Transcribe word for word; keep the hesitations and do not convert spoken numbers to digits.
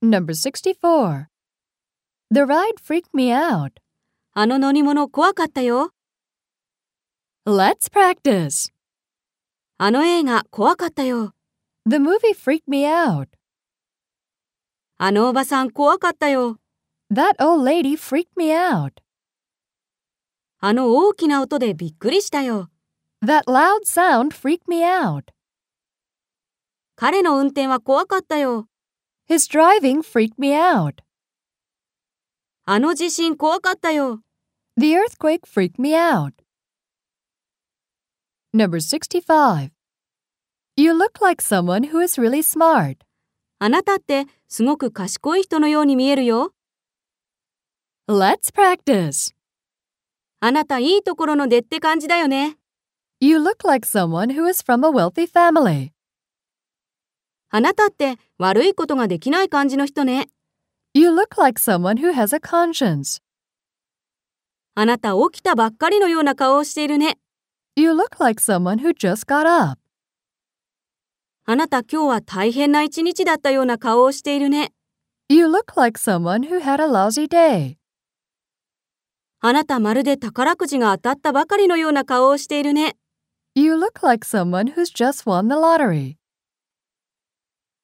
Number sixty-four. The ride freaked me out. あの乗り物怖かったよ。 Let's practice. あの映画怖かったよ。 The movie freaked me out. あのおばさん怖かったよ。 That old lady freaked me out. あの大きな音でびっくりしたよ。 That loud sound freaked me out. 彼の運転は怖かったよ。 His driving freaked me out. あの地震怖かったよ。 The earthquake freaked me out. Number sixty-five. You look like someone who is really smart. あなたってすごく賢い人のように見えるよ。 Let's practice. あなたいいところの出って感じだよね。 You look like someone who is from a wealthy family. あなたって悪いことができない感じの人ね。 You look like someone who has a conscience. あなた起きたばっかりのような顔をしているね。 You look like someone who just got up. あなた今日は大変な一日だったような顔をしているね。 You look like someone who had a lousy day. あなたまるで宝くじが当たったばかりのような顔をしているね。 You look like someone who's just won the lottery.